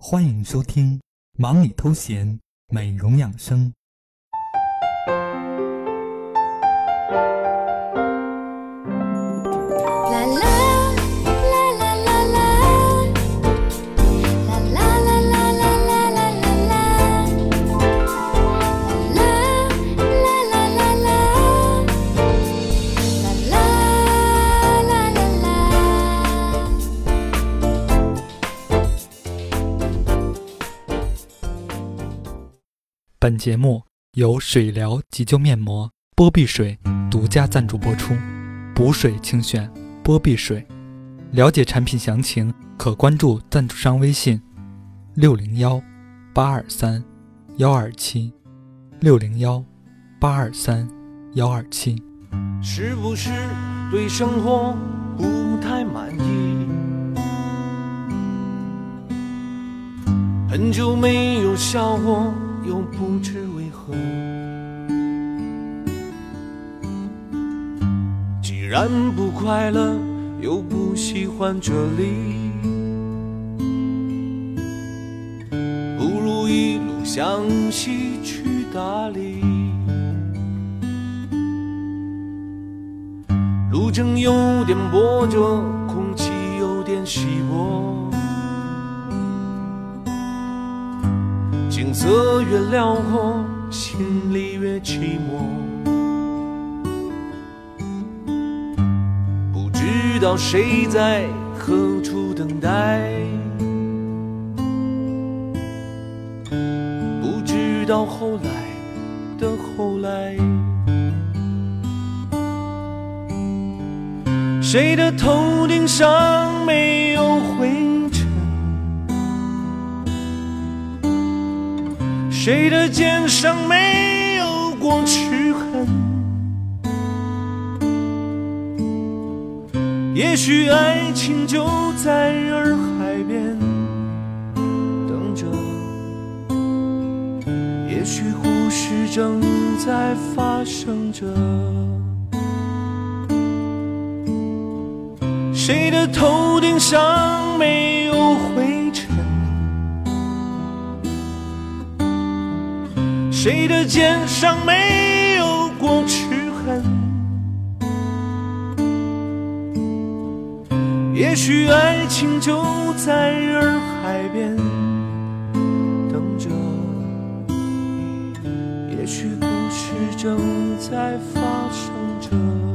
欢迎收听忙里偷闲美容养生。本节目由水疗急救面膜波碧水独家赞助播出，补水清选波碧水。了解产品详情可关注赞助商微信601-823-127 601-823-127。 是不是对生活不太满意？很久没有笑过，又不知为何。既然不快乐，又不喜欢这里，不如一路向西去大理。路程有点波折，空气有点稀薄，景色越辽阔，心里越寂寞。不知道谁在何处等待，不知道后来的后来。谁的头顶上没有灰尘？谁的肩上没有过齿痕？也许爱情就在洱海边等着，也许故事正在发生着。谁的头顶上没有灰尘？谁的肩上没有过齿痕？也许爱情就在洱海边等着，也许故事正在发生着。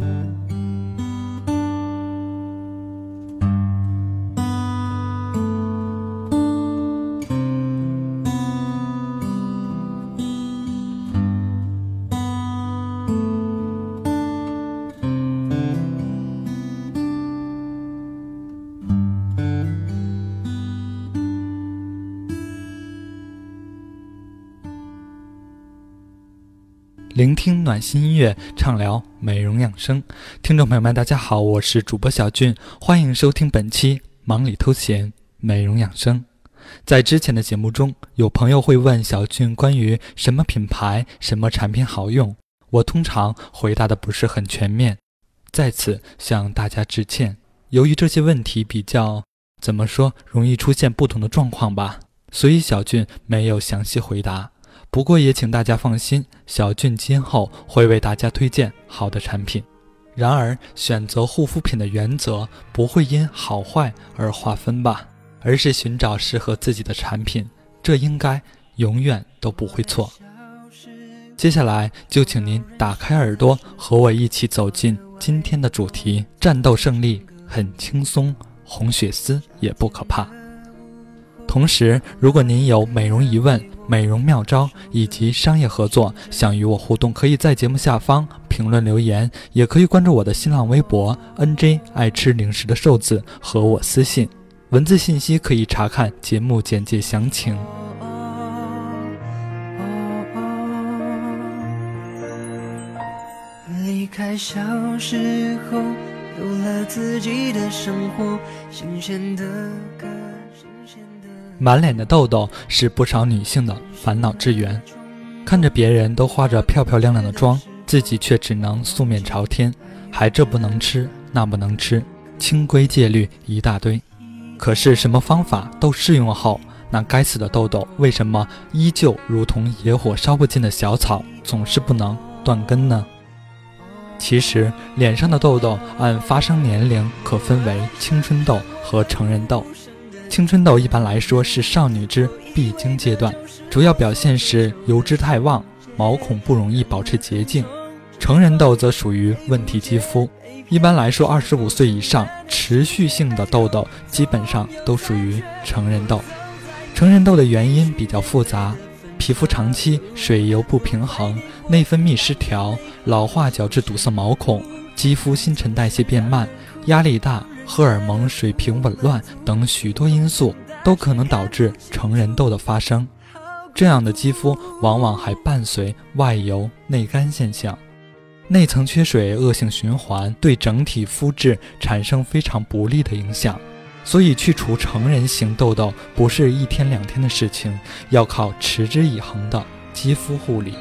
聆听暖心音乐，畅聊美容养生。听众朋友们大家好，我是主播小俊，欢迎收听本期忙里偷闲美容养生。在之前的节目中，有朋友会问小俊关于什么品牌什么产品好用，我通常回答的不是很全面，在此向大家致歉。由于这些问题比较怎么说容易出现不同的状况吧，所以小俊没有详细回答。不过也请大家放心，小俊今后会为大家推荐好的产品。然而选择护肤品的原则不会因好坏而划分吧，而是寻找适合自己的产品，这应该永远都不会错。接下来就请您打开耳朵，和我一起走进今天的主题：战斗胜利很轻松，红血丝也不可怕。同时，如果您有美容疑问、美容妙招以及商业合作想与我互动，可以在节目下方评论留言，也可以关注我的新浪微博 NJ 爱吃零食的瘦子和我私信，文字信息可以查看节目简介详情。 离开小时候，有了自己的生活，新鲜的歌， 满脸的痘痘是不少女性的烦恼之源，看着别人都化着漂漂亮亮的妆，自己却只能素面朝天，还这不能吃那不能吃，清规戒律一大堆。可是什么方法都试用后， 那该死的痘痘为什么依旧如同野火烧不尽的小草，总是不能断根呢？其实脸上的痘痘按发生年龄可分为青春痘和成人痘。青春痘一般来说是少女之必经阶段，主要表现是油脂太旺，毛孔不容易保持洁净。成人痘则属于问题肌肤，一般来说25岁以上持续性的痘痘基本上都属于成人痘。成人痘的原因比较复杂，皮肤长期水油不平衡，内分泌失调，老化导致堵塞毛孔，肌肤新陈代谢变慢，压力大，荷尔蒙水平紊乱等许多因素都可能导致成人痘的发生。这样的肌肤往往还伴随外油内干现象，内层缺水恶性循环，对整体肤质产生非常不利的影响。所以去除成人型痘痘不是1天2天的事情，要靠持之以恒的肌肤护理。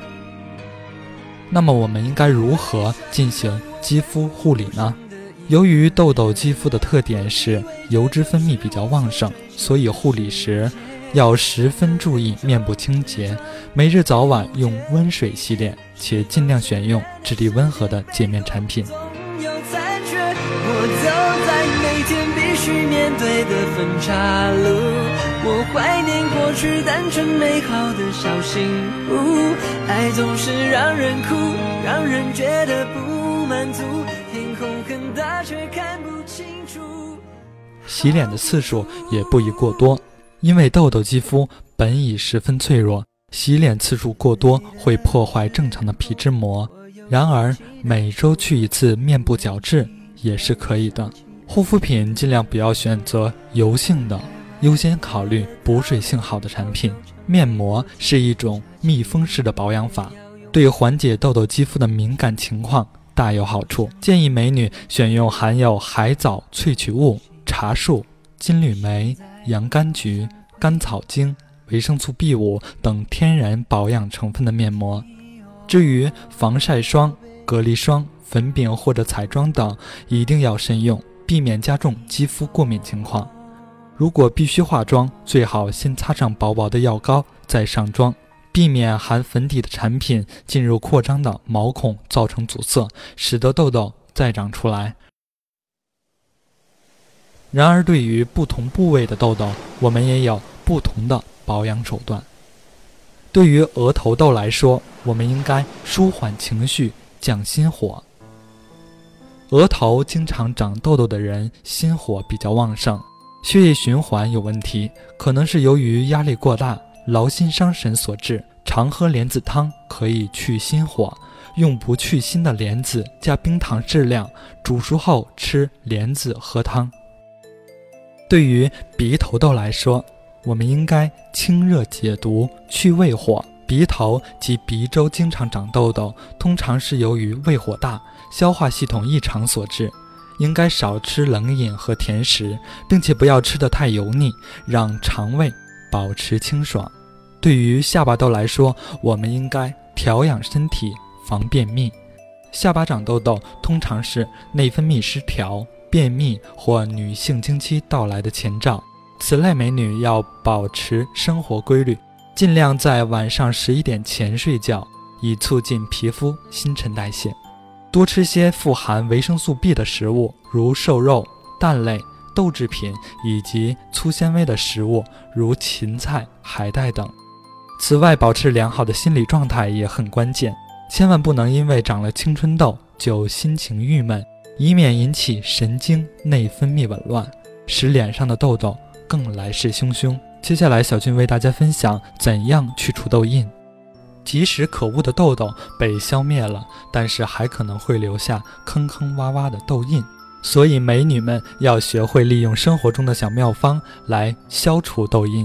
那么我们应该如何进行肌肤护理呢？由于痘痘肌肤的特点是油脂分泌比较旺盛，所以护理时要十分注意面部清洁，每日早晚用温水洗脸，且尽量选用质地温和的洁面产品。 我走在每天必须面对的分岔路，我怀念过去单纯美好的小幸福，爱总是让人哭，让人觉得不满足，天空很大却看不清楚。 洗脸的次数也不宜过多，因为痘痘肌肤本已十分脆弱，洗脸次数过多会破坏正常的皮脂膜。然而每周去一次面部角质也是可以的。护肤品尽量不要选择油性的，优先考虑补水性好的产品。面膜是一种密封式的保养法，对缓解痘痘肌肤的敏感情况大有好处。建议美女选用含有海藻萃取物、茶树、金缕梅、洋甘菊、甘草精、维生素 B5 等天然保养成分的面膜。至于防晒霜、隔离霜、粉饼或者彩妆等一定要慎用，避免加重肌肤过敏情况。如果必须化妆，最好先擦上薄薄的药膏再上妆，避免含粉底的产品进入扩张的毛孔造成阻塞，使得痘痘再长出来。然而对于不同部位的痘痘，我们也有不同的保养手段。对于额头痘来说，我们应该舒缓情绪，降心火。额头经常长痘痘的人心火比较旺盛，血液循环有问题，可能是由于压力过大、劳心伤神所致。常喝莲子汤可以去心火，用不去心的莲子加冰糖适量，煮熟后吃莲子喝汤。对于鼻头痘来说，我们应该清热解毒，去胃火。鼻头及鼻周经常长痘痘，通常是由于胃火大、消化系统异常所致，应该少吃冷饮和甜食，并且不要吃得太油腻，让肠胃保持清爽。对于下巴痘来说，我们应该调养身体，防便秘。下巴长痘痘通常是内分泌失调、便秘或女性经期到来的前兆，此类美女要保持生活规律，尽量在晚上11点前睡觉，以促进皮肤新陈代谢。多吃些富含维生素 B 的食物，如瘦肉、蛋类、豆制品以及粗纤维的食物，如芹菜、海带等。此外，保持良好的心理状态也很关键，千万不能因为长了青春痘就心情郁闷，以免引起神经内分泌紊乱，使脸上的痘痘更来势汹汹。接下来小俊为大家分享怎样去除痘印。即使可恶的痘痘被消灭了，但是还可能会留下坑坑洼洼的痘印，所以美女们要学会利用生活中的小妙方来消除痘印。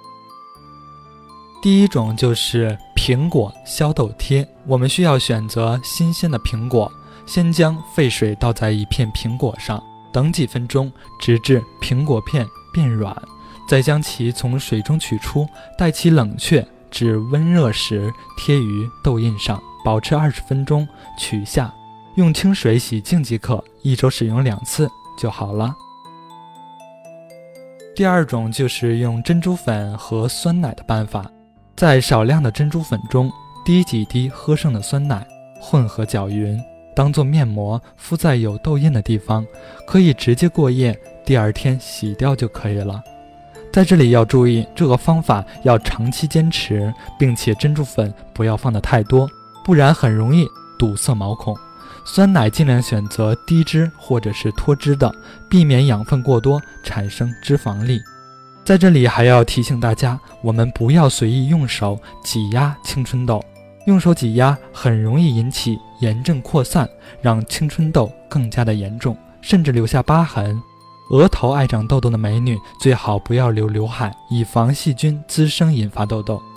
第一种就是苹果消痘贴，我们需要选择新鲜的苹果，先将沸水倒在一片苹果上，等几分钟，直至苹果片变软，再将其从水中取出，待其冷却至温热时贴于痘印上，保持20分钟，取下，用清水洗净即可，1周使用2次就好了。 第二种就是用珍珠粉和酸奶的办法，在少量的珍珠粉中滴几滴喝剩的酸奶，混合搅匀，当做面膜敷在有痘印的地方，可以直接过夜，第二天洗掉就可以了。在这里要注意，这个方法要长期坚持，并且珍珠粉不要放得太多，不然很容易堵塞毛孔。酸奶尽量选择低脂或者是脱脂的，避免养分过多产生脂肪粒。在这里还要提醒大家，我们不要随意用手挤压青春痘，用手挤压很容易引起炎症扩散，让青春痘更加的严重，甚至留下疤痕。额头爱长痘痘的美女最好不要留刘海，以防细菌滋生引发痘痘。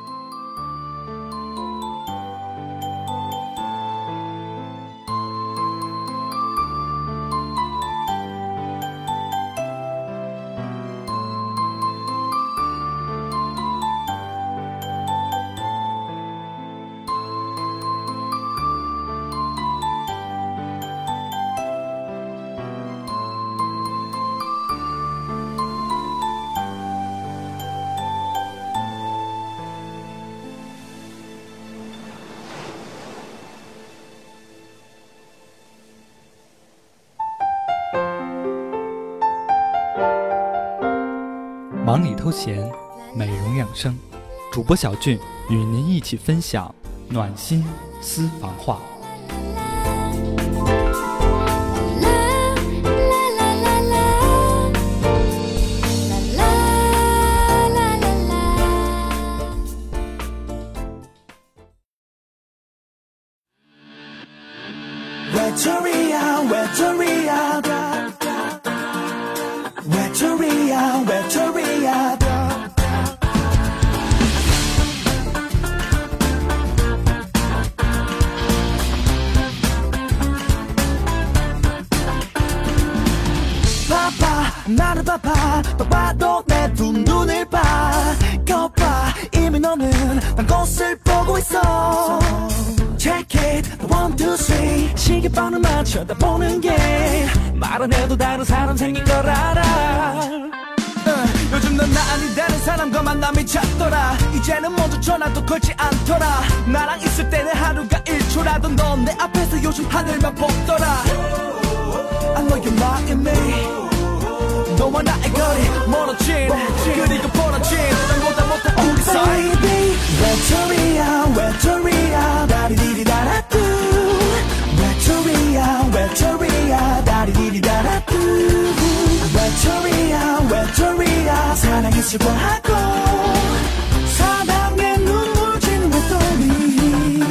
忙里偷闲，美容养生，主播小俊与您一起分享暖心私房话。 나를 봐봐 봐봐도 내 두 눈을 봐 거봐 이미 너는 난 꽃을 보고 있어 Check it 1, 2, 3 시계번호만 쳐다보는 게 말 안 해도 다른 사람 생긴 걸 알아 요즘 넌 나 아닌 다른 사람과 만남이 잦더라 이제는 먼저 전화도 걸지 않더라 나랑 있을 때는 하루가 1초라도 넌 내 앞에서 요즘 하늘만 보더라 I know you're lying me 너와 나의 거리 멀어진 그리고 벌어진 땅보다 못한 우리 사이 baby 외톨이야 외톨이야 다리디리다라뚜 외톨이야 외톨이야 다리디리다라뚜 외톨이야 외톨이야 사랑이 슬퍼하고 사랑에 눈물 지는 외톨이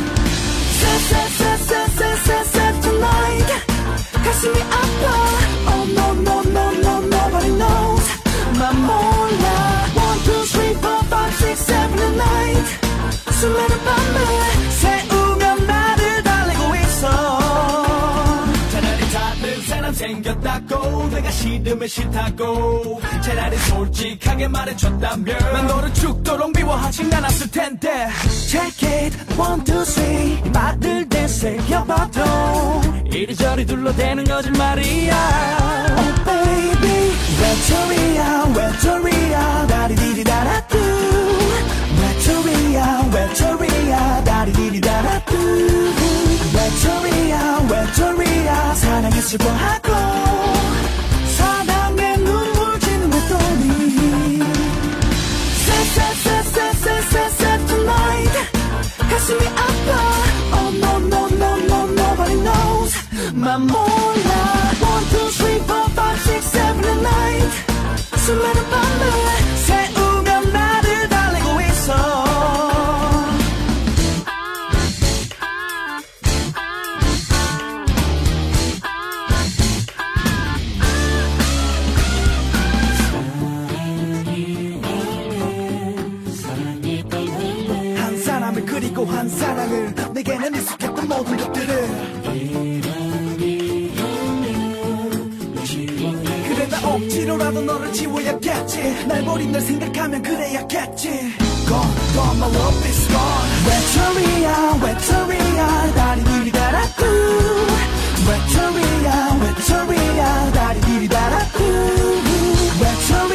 sad tonight 가슴이 아파 Oh no no no no nobody knows 난 몰라 1, 2, 3, 4, 5, 6, 7 and 8 수많은 밤을 새우며 나를 달래고 있어 차라리 다른 사람 생겼다고 내가 싫으면 싫다고 차라리 솔직하게 말해줬다면 난 너를 죽도록 미워하진 않았을 텐데 Check it 1, 2, 3 말을 되새겨봐도 이리저리 둘러대는 거짓말이야 Oh baby 외톨이야 외톨이야 다리디리다라뚜 외톨이야 외톨이야 다리디리다라뚜 외톨이야 외톨이야 사랑에 슬퍼하고 사랑에 눈물 지는 외톨이 sad tonight 가슴이 아파 Oh no no no no nobody knows 난 몰라 1, 2, 3, 4, 5, 6, 7 and 8 수많은 밤을 새우며 나를 달래고 있어 한 사람을 그리고 한 사랑을 내게는 익숙했던 모든 것들을 그래 나 억지로라도 너를 지워야겠지 날 버린 널 생각하면 그래야겠지 Gone my love is gone 외톨이야 외톨이야 다리디리다라뚜 외톨이야 외톨이야 다리디리다라뚜 외톨이야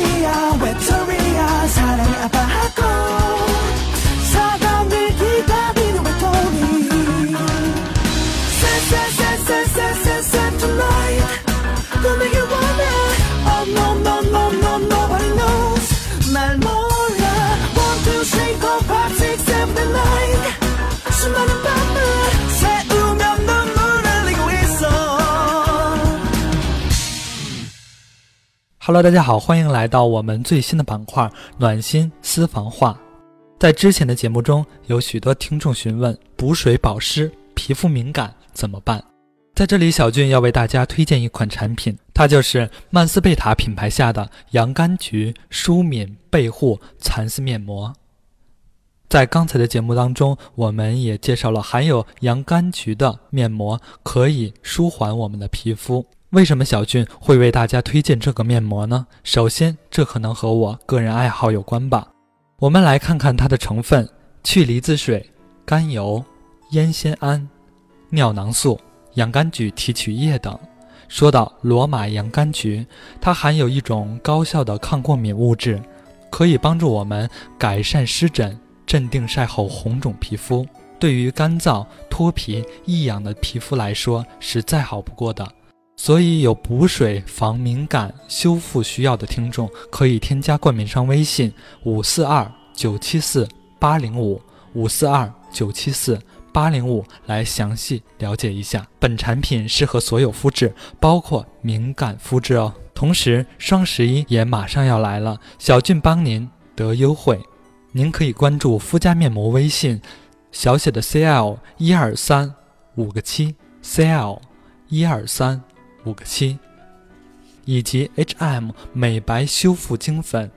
Hello， 大家好，欢迎来到我们最新的板块暖心私房话。在之前的节目中，有许多听众询问补水保湿、皮肤敏感怎么办？在这里，小俊要为大家推荐一款产品，它就是曼斯贝塔品牌下的洋甘菊舒敏倍护蚕丝面膜。在刚才的节目当中，我们也介绍了含有洋甘菊的面膜可以舒缓我们的皮肤。为什么小俊会为大家推荐这个面膜呢？首先，这可能和我个人爱好有关吧。我们来看看它的成分：去离子水、甘油、烟酰胺、尿囊素、洋甘菊提取液等。说到罗马洋甘菊，它含有一种高效的抗过敏物质，可以帮助我们改善湿疹，镇定晒后红肿皮肤。对于干燥、脱皮、异痒的皮肤来说，是再好不过的。所以有补水、防敏感、修复需要的听众，可以添加冠名商微信542-974-805，542-974-805来详细了解一下。本产品适合所有肤质，包括敏感肤质哦。同时，双11也马上要来了，小俊帮您得优惠。您可以关注肤佳面膜微信，小写的 CL123 5个7 CL123 5个7，以及 HM 美白修复精粉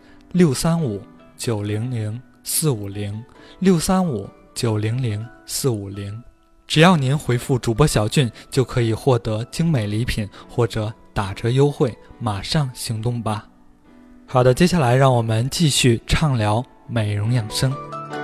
635-900-450，635-900-450，只要您回复主播小俊，就可以获得精美礼品或者打折优惠，马上行动吧。好的，接下来让我们继续畅聊美容养生。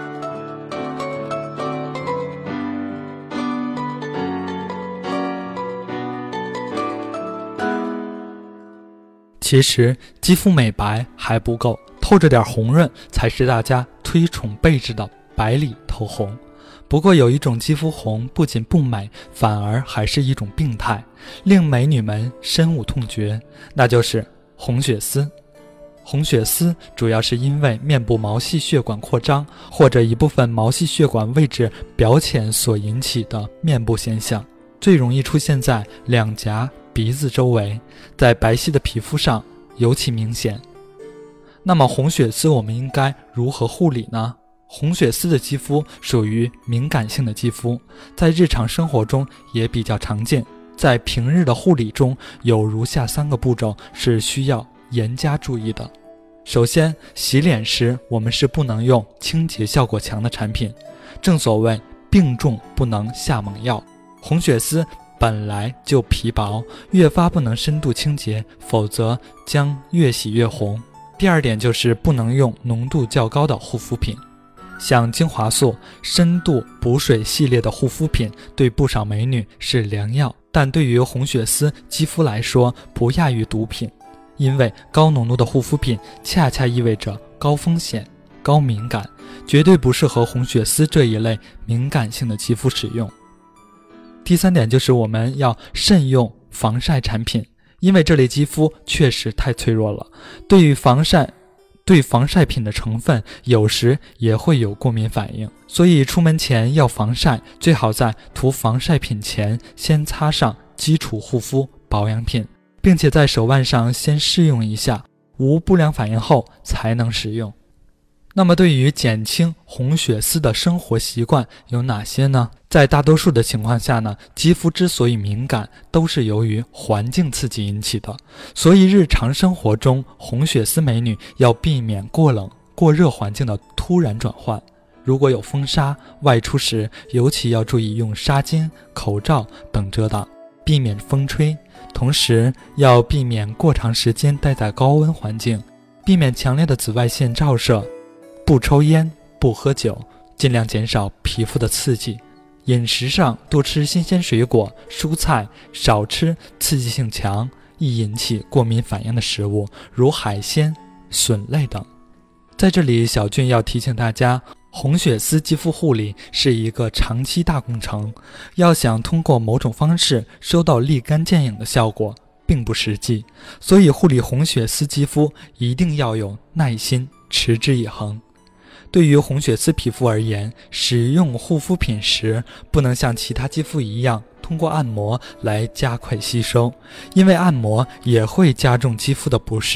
其实肌肤美白还不够，透着点红润才是大家推崇备至的百里透红。不过有一种肌肤红不仅不美，反而还是一种病态，令美女们深恶痛绝，那就是红血丝。红血丝主要是因为面部毛细血管扩张或者一部分毛细血管位置表浅所引起的面部现象，最容易出现在两颊、鼻子周围，在白皙的皮肤上尤其明显。那么红血丝我们应该如何护理呢？红血丝的肌肤属于敏感性的肌肤，在日常生活中也比较常见。在平日的护理中，有如下3个步骤是需要严加注意的。首先，洗脸时我们是不能用清洁效果强的产品，正所谓病重不能下猛药。红血丝本来就皮薄，越发不能深度清洁，否则将越洗越红。第二点就是不能用浓度较高的护肤品，像精华素、深度补水系列的护肤品对不少美女是良药，但对于红血丝肌肤来说不亚于毒品，因为高浓度的护肤品恰恰意味着高风险、高敏感，绝对不适合红血丝这一类敏感性的肌肤使用。第3点就是我们要慎用防晒产品，因为这类肌肤确实太脆弱了，对防晒品的成分有时也会有过敏反应，所以出门前要防晒，最好在涂防晒品前先擦上基础护肤保养品，并且在手腕上先试用一下，无不良反应后才能使用。那么对于减轻红血丝的生活习惯有哪些呢？在大多数的情况下呢，肌肤之所以敏感，都是由于环境刺激引起的，所以日常生活中红血丝美女要避免过冷、过热环境的突然转换。如果有风沙，外出时尤其要注意用纱巾、口罩等遮挡，避免风吹。同时要避免过长时间待在高温环境，避免强烈的紫外线照射，不抽烟，不喝酒，尽量减少皮肤的刺激。饮食上多吃新鲜水果、蔬菜，少吃刺激性强、易引起过敏反应的食物，如海鲜、笋类等。在这里，小俊要提醒大家，红血丝肌肤护理是一个长期大工程，要想通过某种方式收到立竿见影的效果，并不实际，所以护理红血丝肌肤一定要有耐心，持之以恒。对于红血丝皮肤而言，使用护肤品时不能像其他肌肤一样通过按摩来加快吸收，因为按摩也会加重肌肤的不适，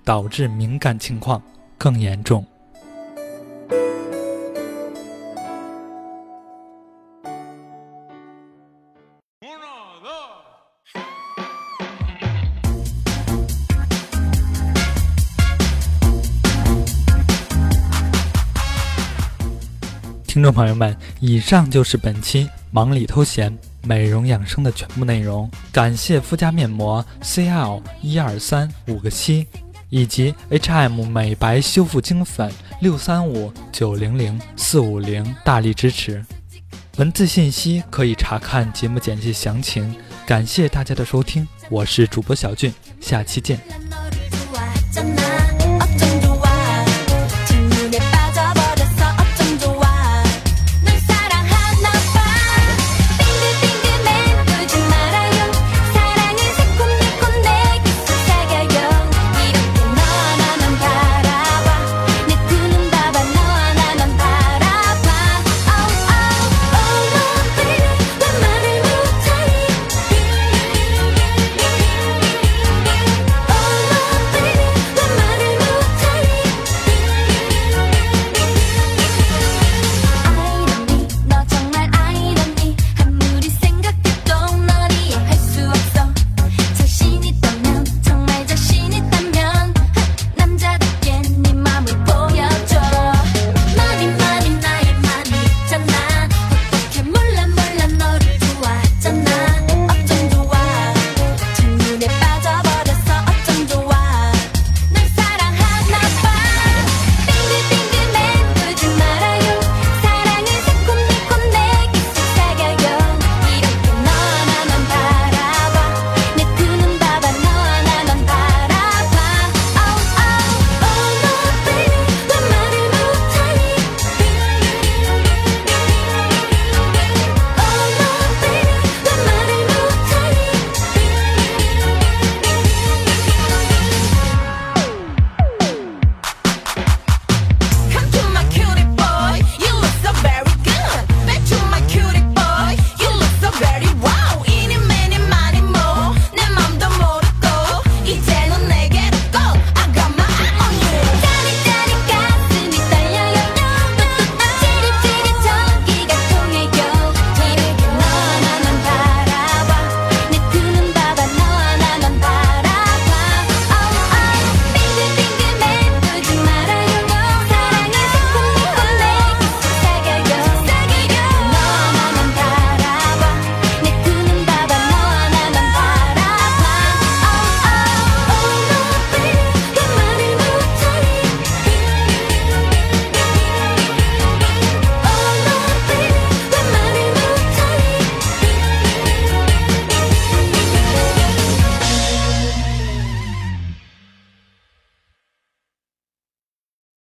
导致敏感情况更严重。听众朋友们，以上就是本期忙里偷闲美容养生的全部内容。感谢肤佳面膜 CL123 个7以及 HM 美白修复精粉635900450大力支持。文字信息可以查看节目简介详情。感谢大家的收听，我是主播小俊，下期见。